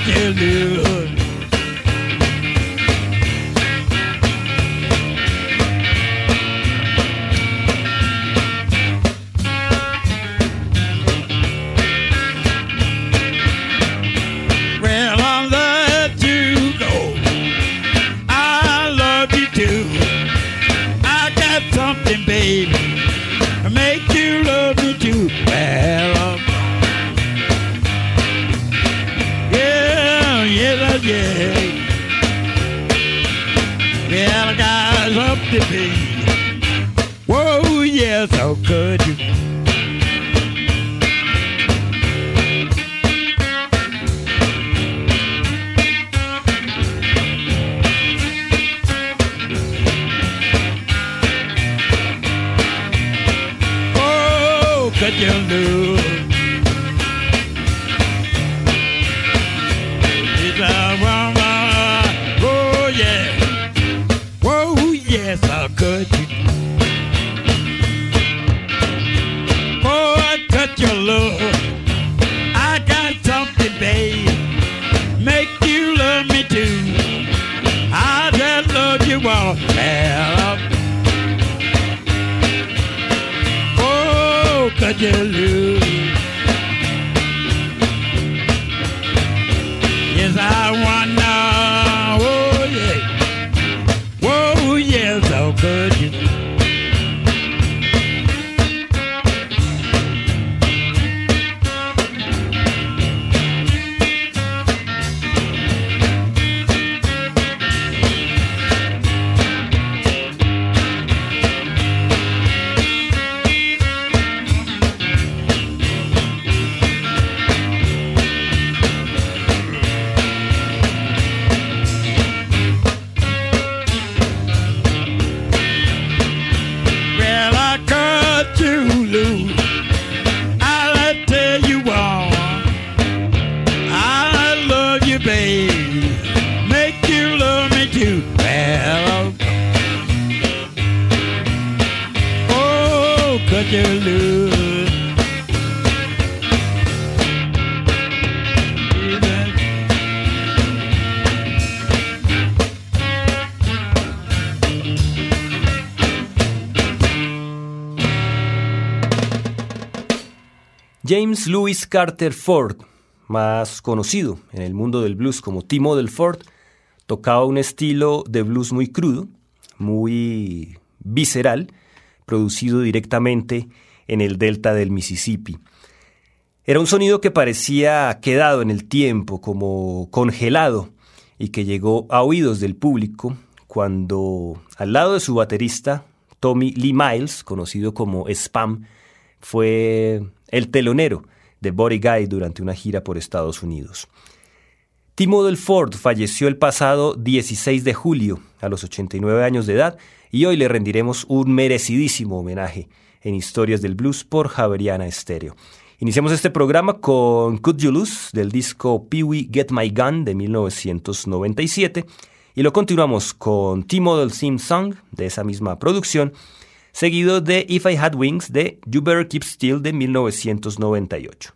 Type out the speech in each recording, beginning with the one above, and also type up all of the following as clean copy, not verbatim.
could you lose? Well, I let you go. I love you too. I got something, baby, to make you love me too. Well, yeah. Yeah, I got something, baby. Whoa, yes, how could you? Oh, could you lose? Oh, yeah. Whoa, yes, how could you? Oh, I cut your love. I got something, babe, make you love me too. I just love you all. Well, oh, could you lose? Yes, I wanna, oh yeah, whoa, yes, how could you? James Louis Carter Ford, más conocido en el mundo del blues como T. Model Ford, tocaba un estilo de blues muy crudo, muy visceral, producido directamente en el delta del Mississippi. Era un sonido que parecía quedado en el tiempo, como congelado, y que llegó a oídos del público cuando, al lado de su baterista, Tommy Lee Miles, conocido como Spam, fue el telonero de Buddy Guy durante una gira por Estados Unidos. T. Model Ford falleció el pasado 16 de julio a los 89 años de edad y hoy le rendiremos un merecidísimo homenaje en Historias del Blues por Javeriana Estéreo. Iniciamos este programa con Could You Lose del disco Pee Wee Get My Gun de 1997 y lo continuamos con T. Model Theme Song de esa misma producción, seguido de If I Had Wings de You Better Keep Still de 1998.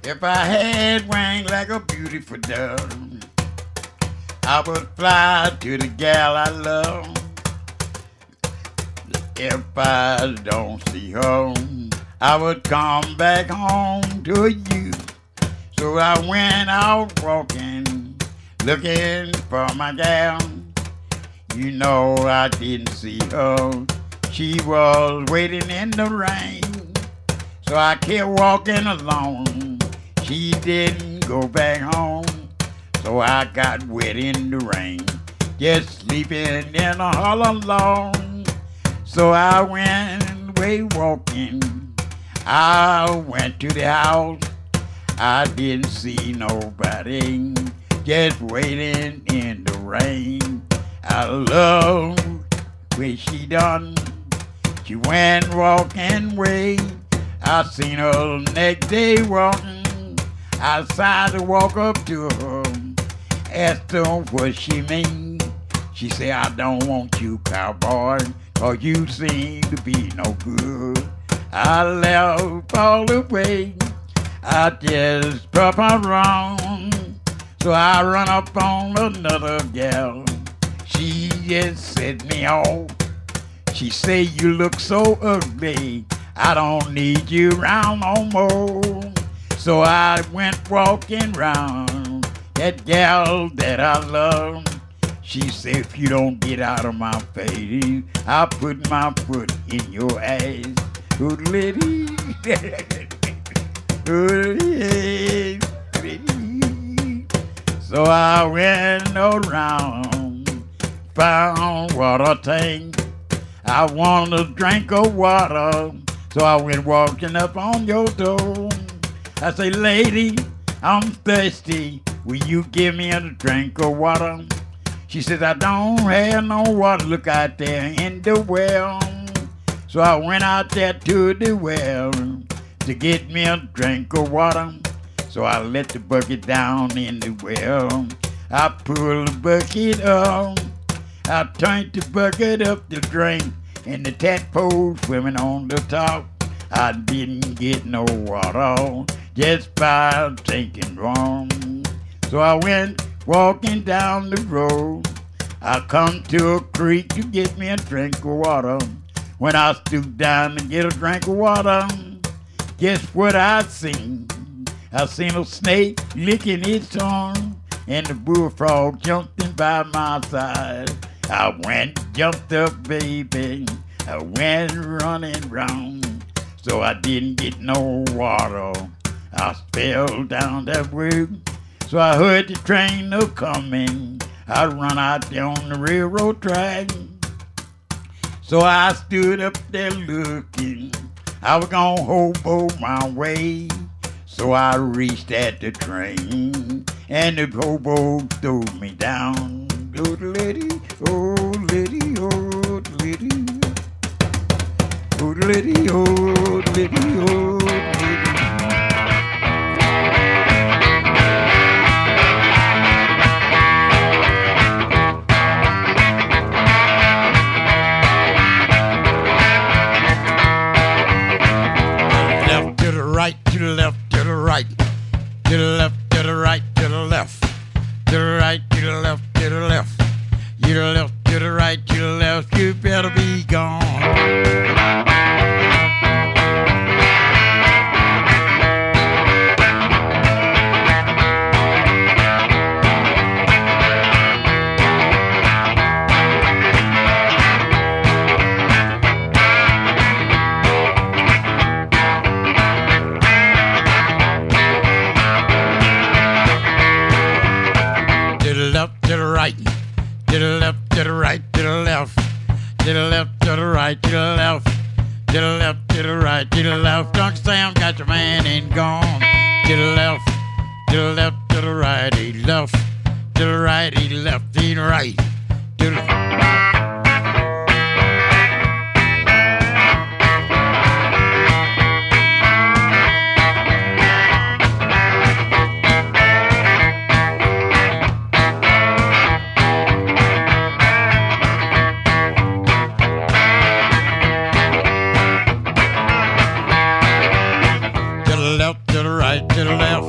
If I had wings like a beautiful dove, I would fly to the gal I love. If I don't see her, I would come back home to you. So I went out walking, looking for my gal. You know I didn't see her. She was waiting in the rain. So I kept walking along. She didn't go back home. So I got wet in the rain, just sleeping in a hollow log. So I went away walking. I went to the house. I didn't see nobody, just waiting in the rain. I love what she done. She went walking away. I seen her next day walking. I decided to walk up to her, asked her what she mean. She said, I don't want you, cowboy, 'cause you seem to be no good. I left all the way. I just pop around. So I run up on another gal. She just set me off. She say, you look so ugly, I don't need you around no more. So I went walking round that gal that I love. She said, if you don't get out of my face, I'll put my foot in your ass. Oodle-dee. Oodle-dee. So I went around, found water tank. I wanted a drink of water, so I went walking up on your door. I say, lady, I'm thirsty. Will you give me a drink of water? She says, I don't have no water. Look out there in the well. So I went out there to the well to get me a drink of water. So I let the bucket down in the well. I pulled the bucket up. I turned the bucket up to drink, and the tadpole swimming on the top. I didn't get no water just by thinking wrong. So I went walking down the road. I come to a creek to get me a drink of water. When I stooped down to get a drink of water, guess what I seen? I seen a snake licking its tongue, and the bullfrog jumping by my side. I went, jumped up, baby. I went running round, so I didn't get no water. I fell down that road, so I heard the train a coming. I run out there on the railroad track, so I stood up there looking. I was gonna hobo my way, so I reached at the train, and the hobo threw me down. Oh, lady, oh, lady, oh, lady. Oh, lady, oh, lady, oh, lady. Left to the right, to the left, to the right, to the left, to the right, to the left, to the right, to the left, to the left, to the left, to the right, to the left. You better be gone. To the left, to the right, to the left, to the right, to the left, to the left, to the right, to the left, to the left, to the right, to the left. Uncle Sam got your man and gone. To the left, to the left, to the right, he left, to the right, he left, he right, to the left, to the right, to the left,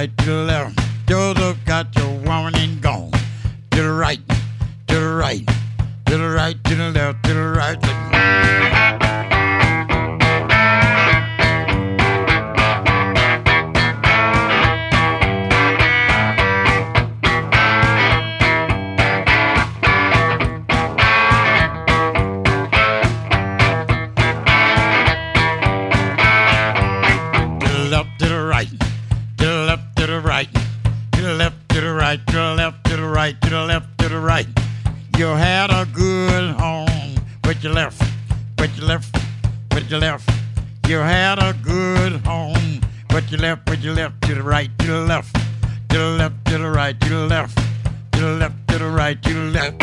right, to the left. Joseph got your woman and gone. To the right, to the right, to the right, to the left, to the right. To the left, to the right. You had a good home, but you left, but you left, but you left. You had a good home, but you left, but you left. To the right, to the left, to the left, to the right, to the left, to the left, to the right, to the left.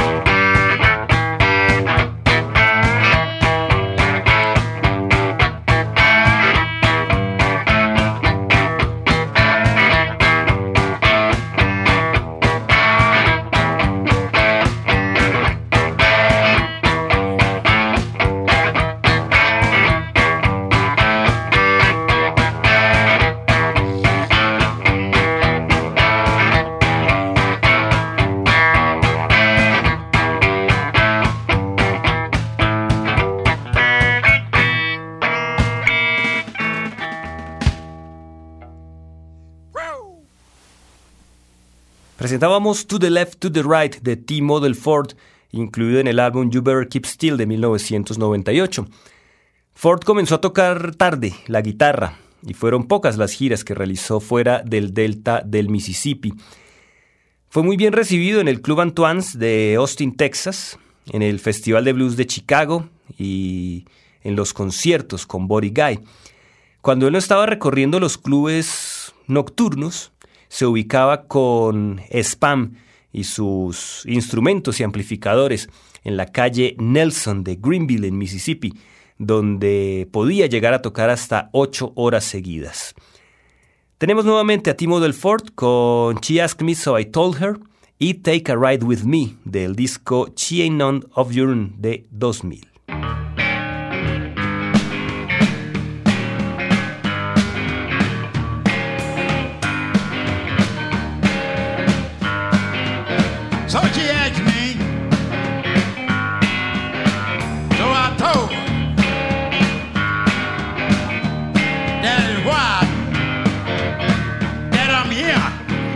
Presentábamos To the Left, To the Right de T-Model Ford, incluido en el álbum You Better Keep Still de 1998. Ford comenzó a tocar tarde la guitarra y fueron pocas las giras que realizó fuera del delta del Mississippi. Fue muy bien recibido en el Club Antoine's de Austin, Texas, en el Festival de Blues de Chicago y en los conciertos con Buddy Guy. Cuando él no estaba recorriendo los clubes nocturnos, se ubicaba con Spam y sus instrumentos y amplificadores en la calle Nelson de Greenville, en Mississippi, donde podía llegar a tocar hasta 8 horas seguidas. Tenemos nuevamente a T-Model Ford con She Asked Me So I Told Her y Take a Ride With Me del disco She Ain't None of Your Own de 2000. So she asked me, so I told her, that is why that I'm here.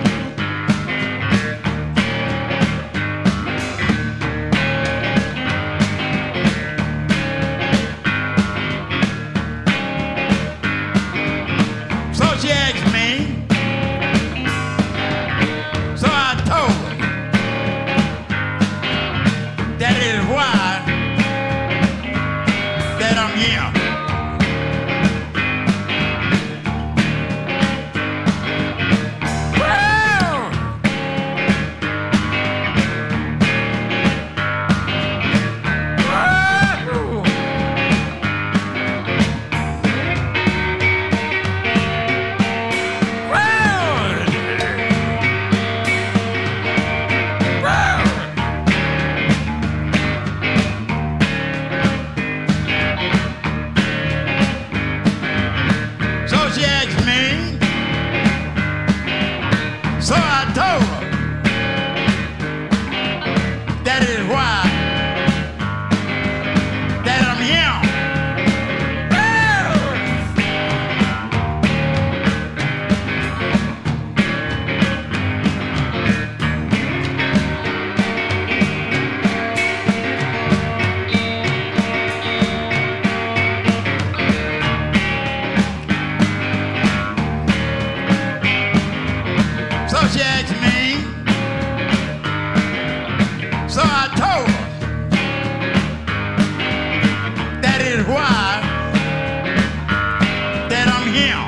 So she asked me, so I told her, that is why that I'm here. Well, so she asked me, so I told her, that is why that I'm here. So she asked me, so I told her, that is why that I'm here.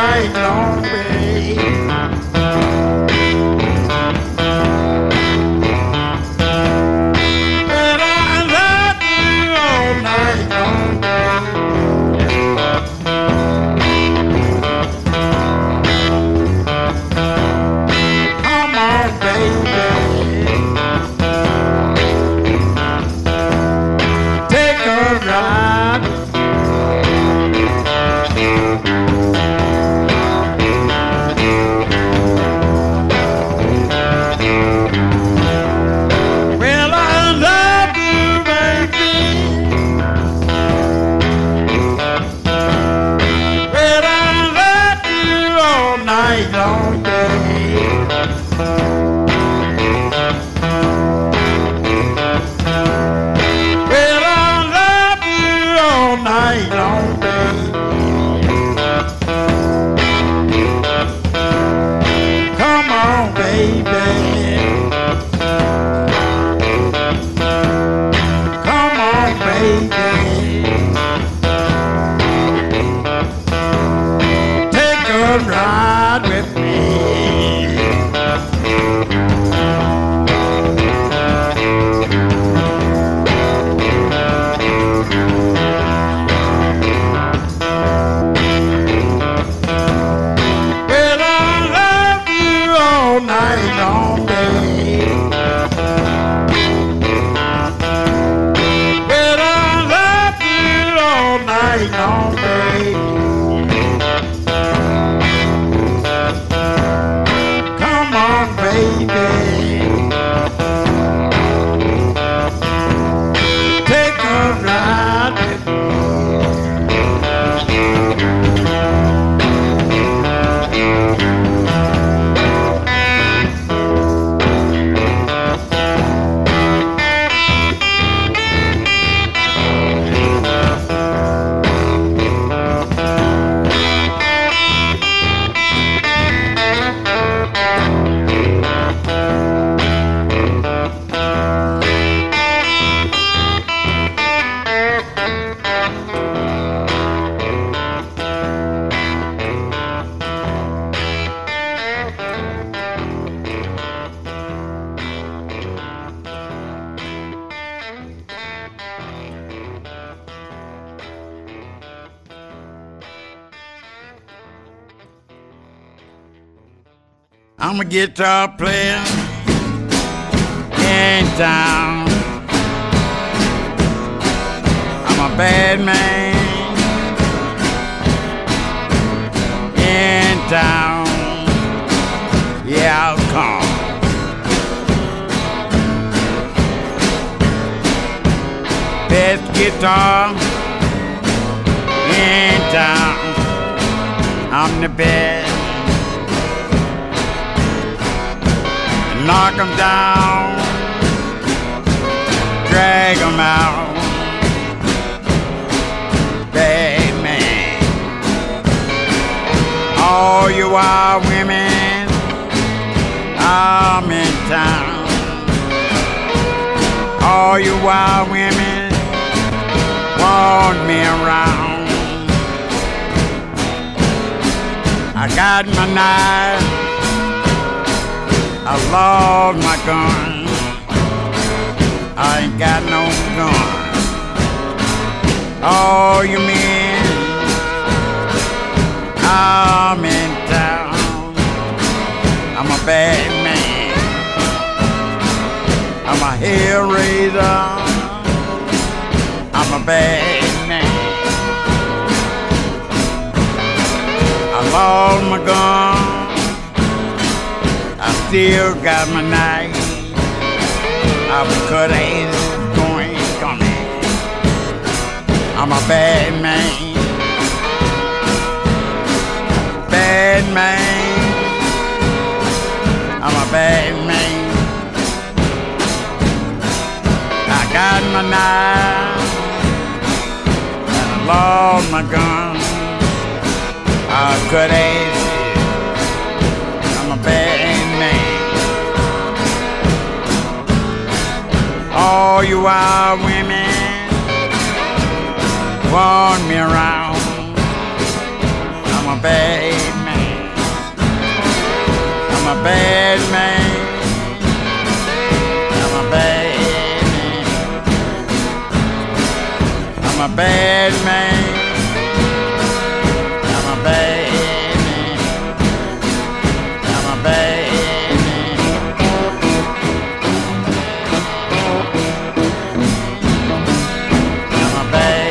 night long, babe. And I love you all night long, babe. Come on, baby. Take a ride. Well, I love you, baby. Well, I love you all night long, babe. Well, I love you all night long, babe. Come on, baby. Come on, baby. Take a ride with me. Well, I love you all night long, babe. Well, I love you all night long, babe. Come on, baby. Take a ride with me. I'm a guitar player in town. I'm a bad man in town. Yeah, I'll come. Best guitar in town. I'm the best. Knock 'em down, drag 'em out. Bad man. All you wild women, I'm in town. All you wild women want me around. I got my knife, I lost my gun. I ain't got no gun. All you men, I'm in town. I'm a bad man. I'm a hell raiser. I'm a bad man. I lost my gun. I still got my knife. I was cut ass going coming. I'm a bad man. Bad man. I'm a bad man. I got my knife and I lost my gun. I cut ass. I'm a bad man. All you wild women want me around. I'm a bad man. bad man. I'm a bad man. I'm a bad man. I'm a bad man. I'm a bad man. I'm a bad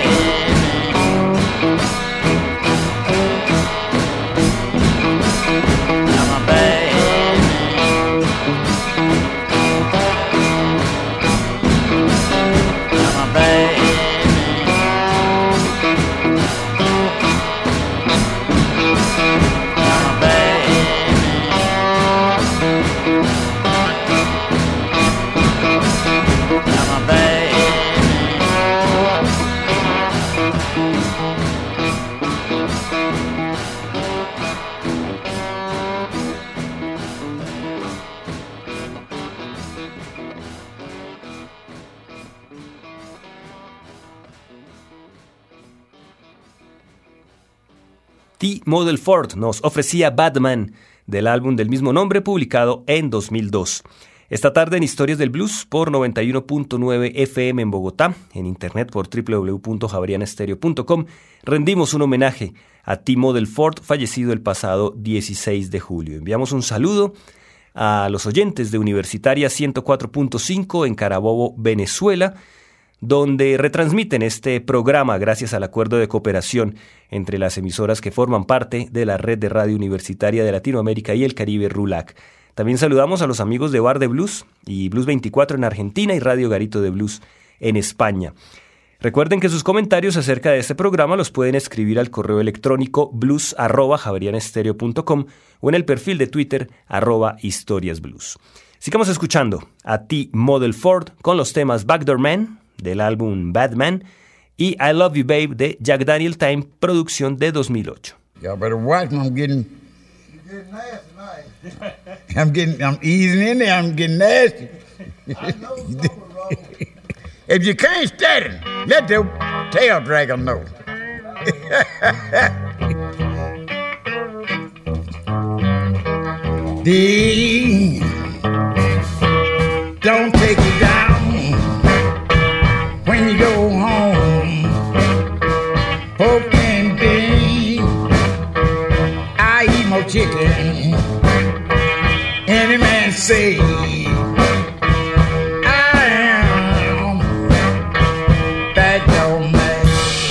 T-Model Ford nos ofrecía Batman del álbum del mismo nombre publicado en 2002. Esta tarde en Historias del Blues por 91.9 FM en Bogotá, en internet por www.javerianestereo.com, rendimos un homenaje a T-Model Ford, fallecido el pasado 16 de julio. Enviamos un saludo a los oyentes de Universitaria 104.5 en Carabobo, Venezuela, donde retransmiten este programa gracias al acuerdo de cooperación entre las emisoras que forman parte de la red de radio universitaria de Latinoamérica y el Caribe, RULAC. También saludamos a los amigos de Bar de Blues y Blues 24 en Argentina y Radio Garito de Blues en España. Recuerden que sus comentarios acerca de este programa los pueden escribir al correo electrónico blues@javerianestereo.com o en el perfil de Twitter @historiasblues. Sigamos escuchando a T-Model Ford con los temas Backdoor Man del álbum Batman y I Love You Babe de Jack Daniel Time, producción de 2008. Y'all better watch me. I'm easing in there. I'm getting nasty. If you can't stand it, let the tail dragger know. Don't take it down when you go home. Pork and beans, I eat more chicken. Any man say I am backdoor man.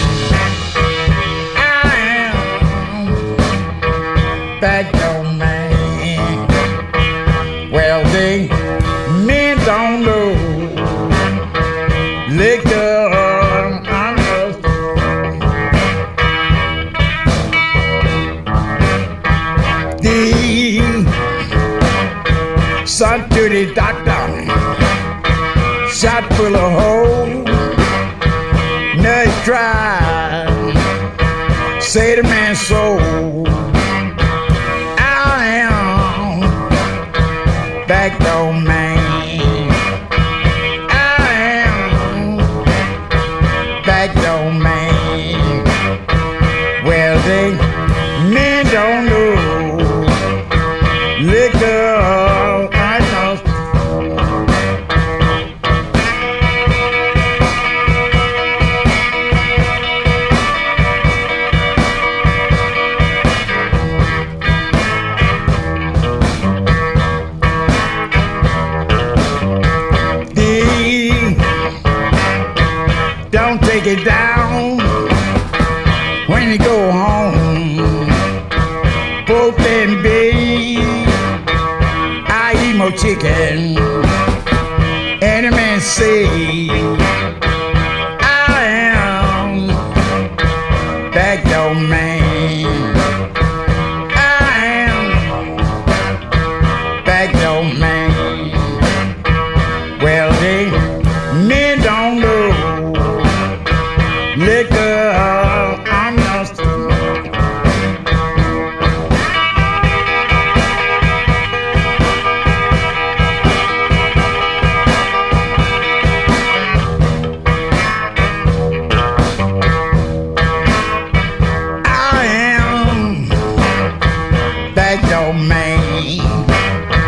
I am backdoor man. Well, they men don't know. Liquor, I'm just the son to the doctor, shot full of holes. Nurse tried, say the man's soul. I am backdoor man. Backdoor man. Well, they men don't know. Liquor, I know. Don't take it down when you go home. Pork and beans, I eat more chicken. Any man say I am backdoor man. I am backdoor man. Well, they men don't know. Liquor, I'm lost. I am backdoor man.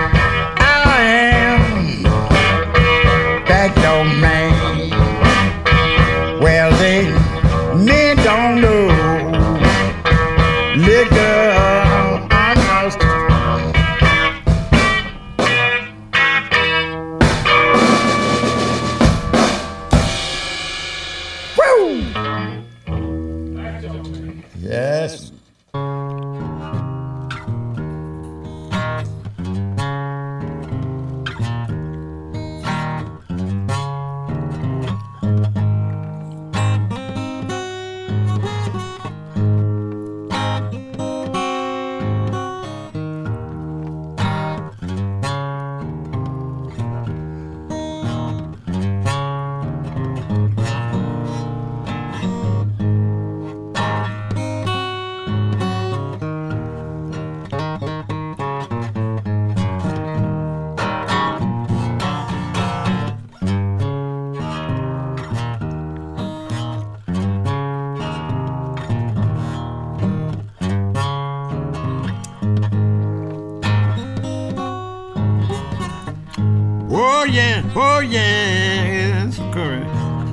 oh yes, correct.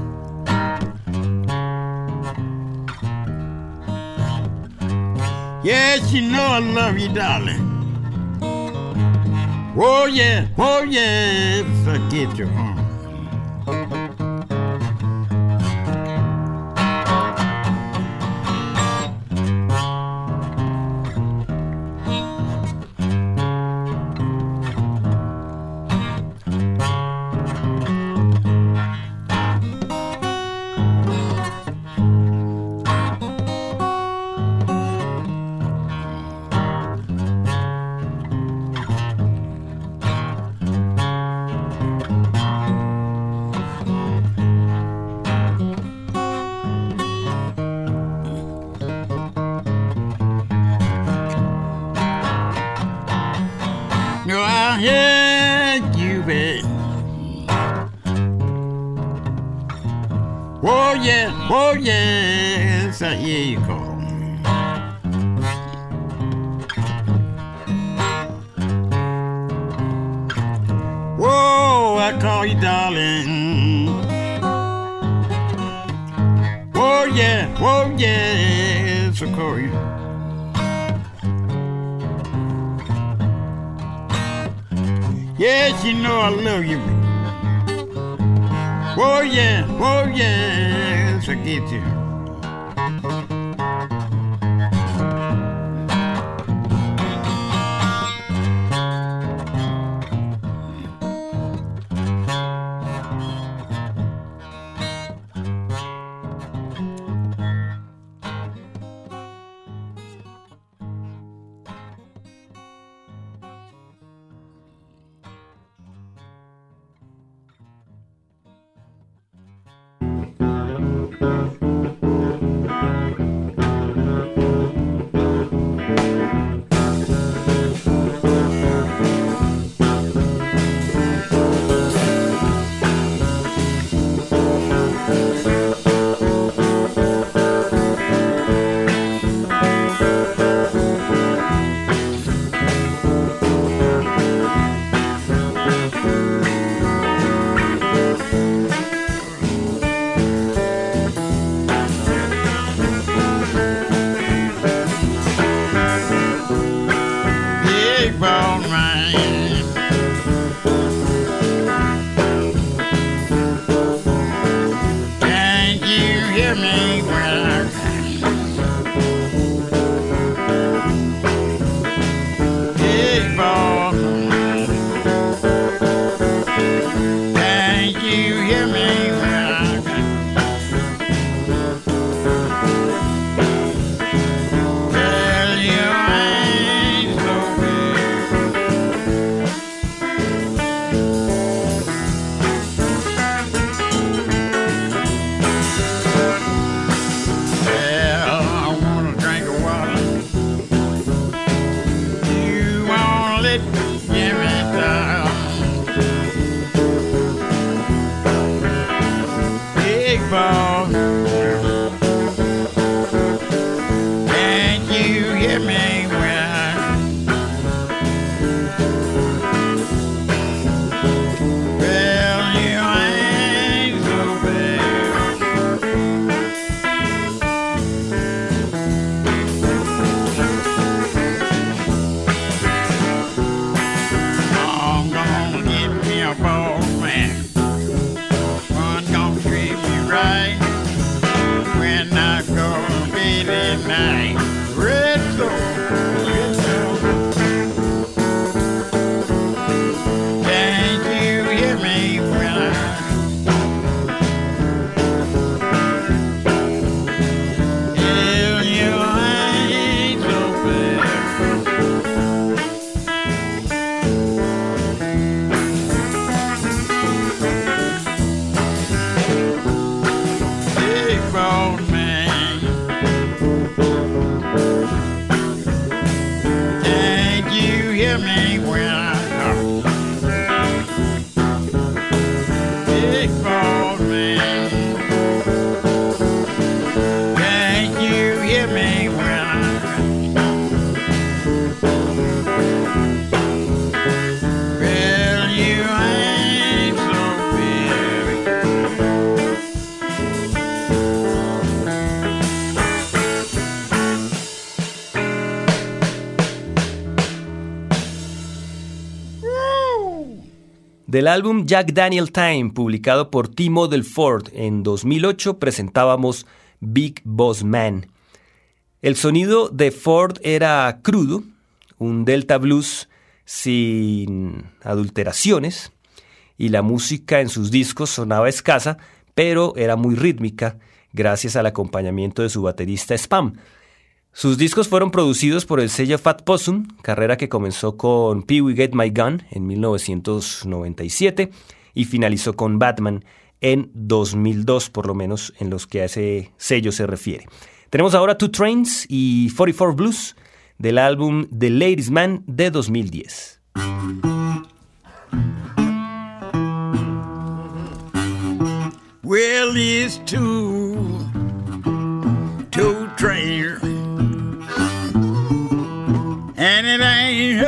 Yes, you know I love you, darling. Oh yes, I get your arm. No, I hear you, babe. Oh yes, I hear you call. Whoa, I call you darling. Oh yes, I call you. Yes, you know I love you. Oh yes, I get you. Del álbum Jack Daniel Time, publicado por Timo del Ford en 2008, presentábamos Big Boss Man. El sonido de Ford era crudo, un Delta Blues sin adulteraciones, y la música en sus discos sonaba escasa, pero era muy rítmica, gracias al acompañamiento de su baterista Spam. Sus discos fueron producidos por el sello Fat Possum, carrera que comenzó con Pee Wee Get My Gun en 1997 y finalizó con Batman en 2002, por lo menos en los que a ese sello se refiere. Tenemos ahora Two Trains y 44 Blues del álbum The Ladies Man de 2010. Well, it's two trains, and it ain't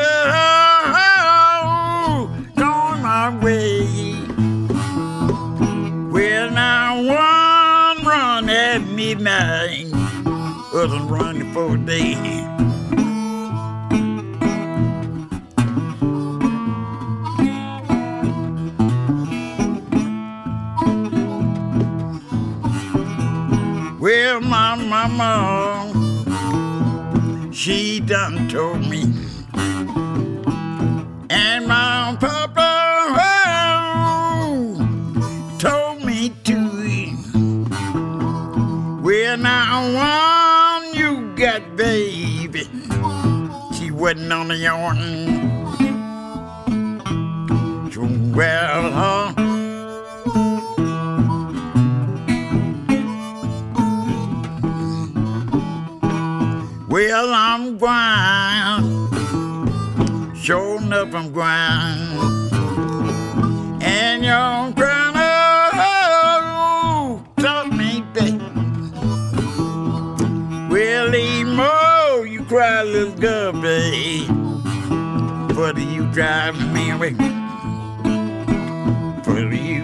going my way. Well, now one run at midnight, other run for a day. Well, my mama, she done told me, and my papa told me too. Well, now one you got, baby, she wasn't on the yarn. Well, well, I'm gwine, sure enough I'm gwine, and your grandma taught me that. Well, Emo, you cry, little girl, babe, but you driving me away, but you.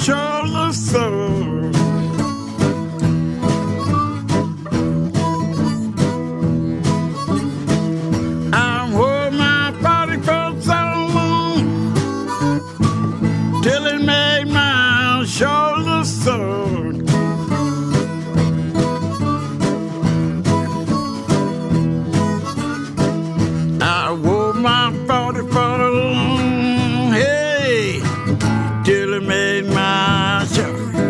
shoulder sore. I wore my 44 so long till it made my shoulder sore. I wore my 44 hey till it made my shoulder.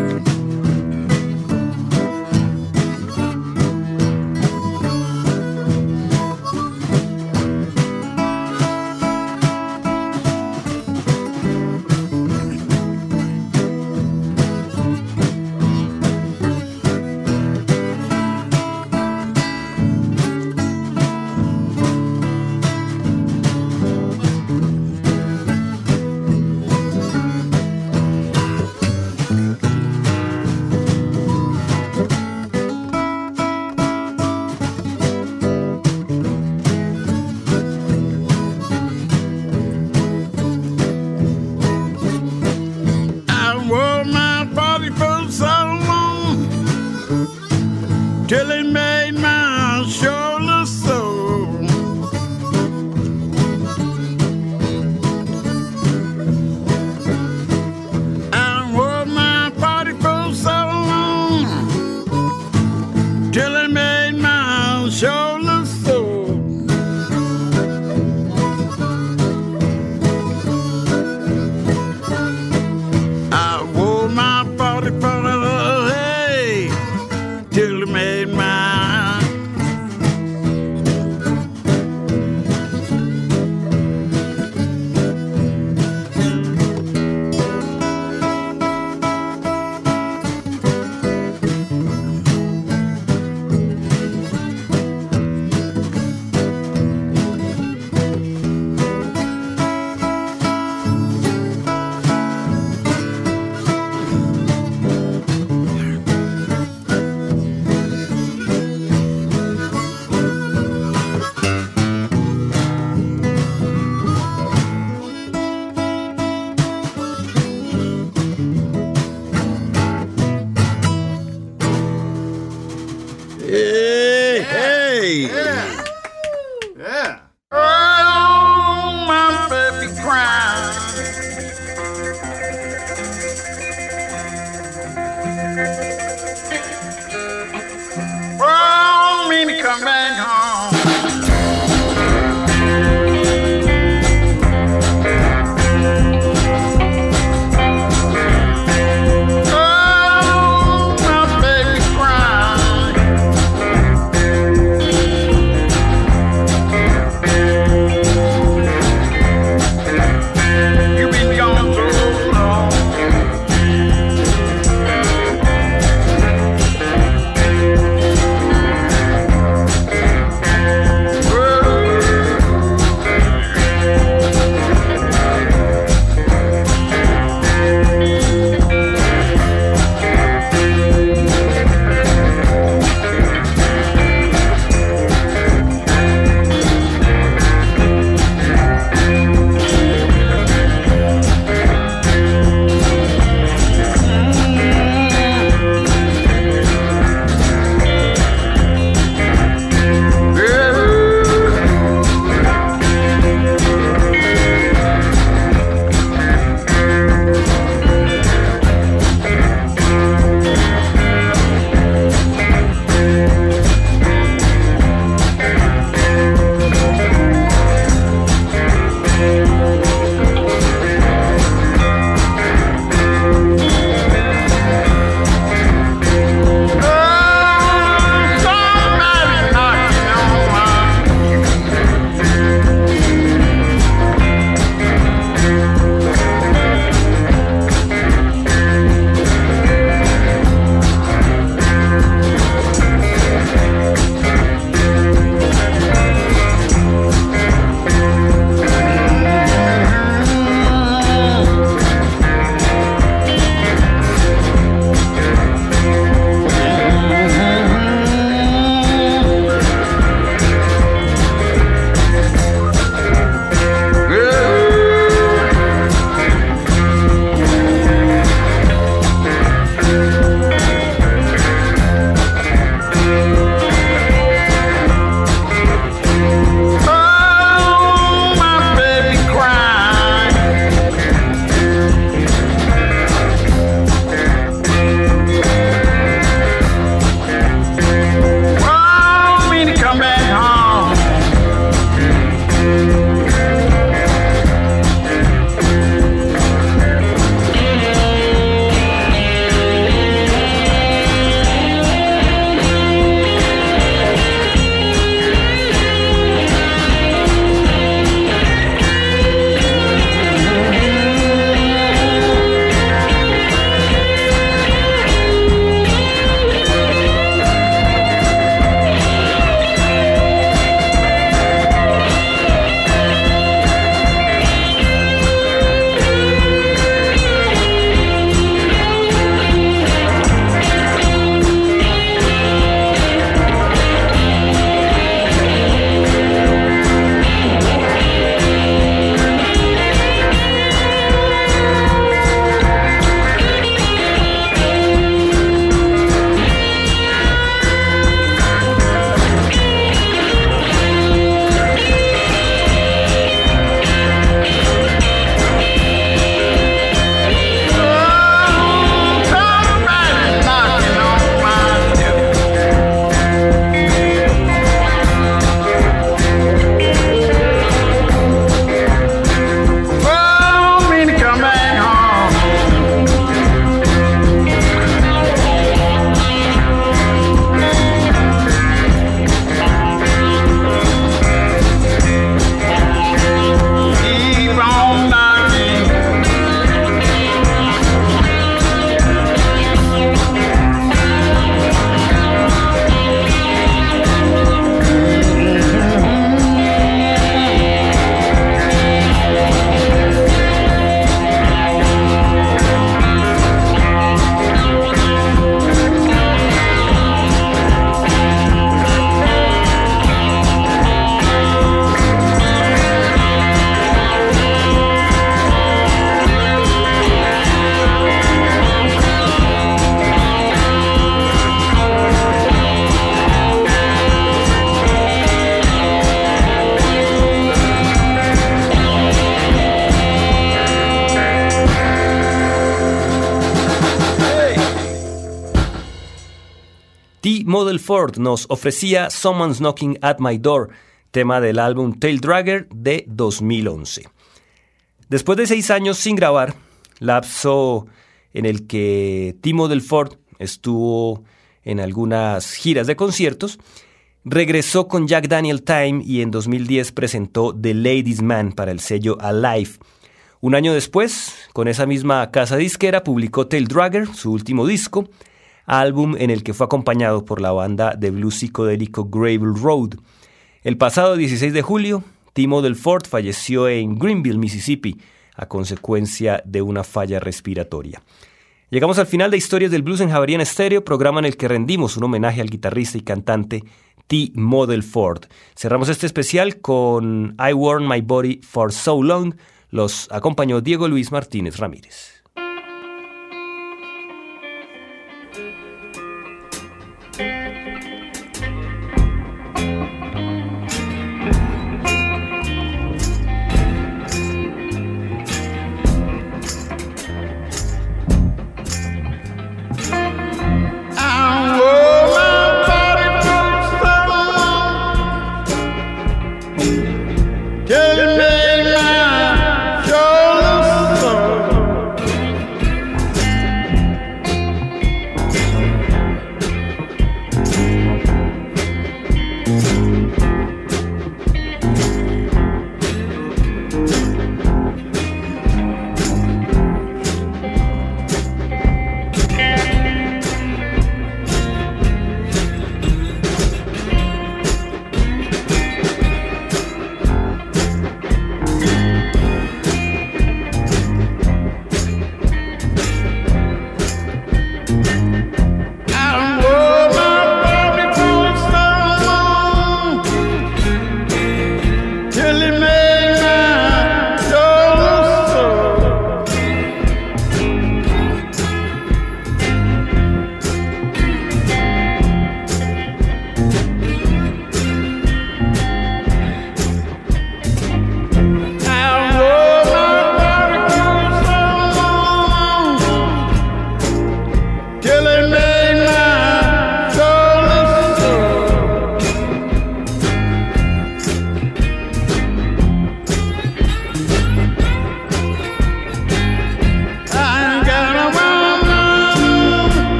T. Model Ford nos ofrecía Someone's Knocking at My Door, tema del álbum Tail Dragger de 2011. Después de 6 años sin grabar, lapso en el que T. Model Ford estuvo en algunas giras de conciertos, regresó con Jack Daniel Time y en 2010 presentó The Ladies Man para el sello Alive. Un año después, con esa misma casa disquera, publicó Tail Dragger, su último disco, álbum en el que fue acompañado por la banda de blues psicodélico Gravel Road. El pasado 16 de julio, T. Model Ford falleció en Greenville, Mississippi, a consecuencia de una falla respiratoria. Llegamos al final de Historias del Blues en Javeriana Estéreo, programa en el que rendimos un homenaje al guitarrista y cantante T. Model Ford. Cerramos este especial con I Worn My Body for So Long. Los acompañó Diego Luis Martínez Ramírez.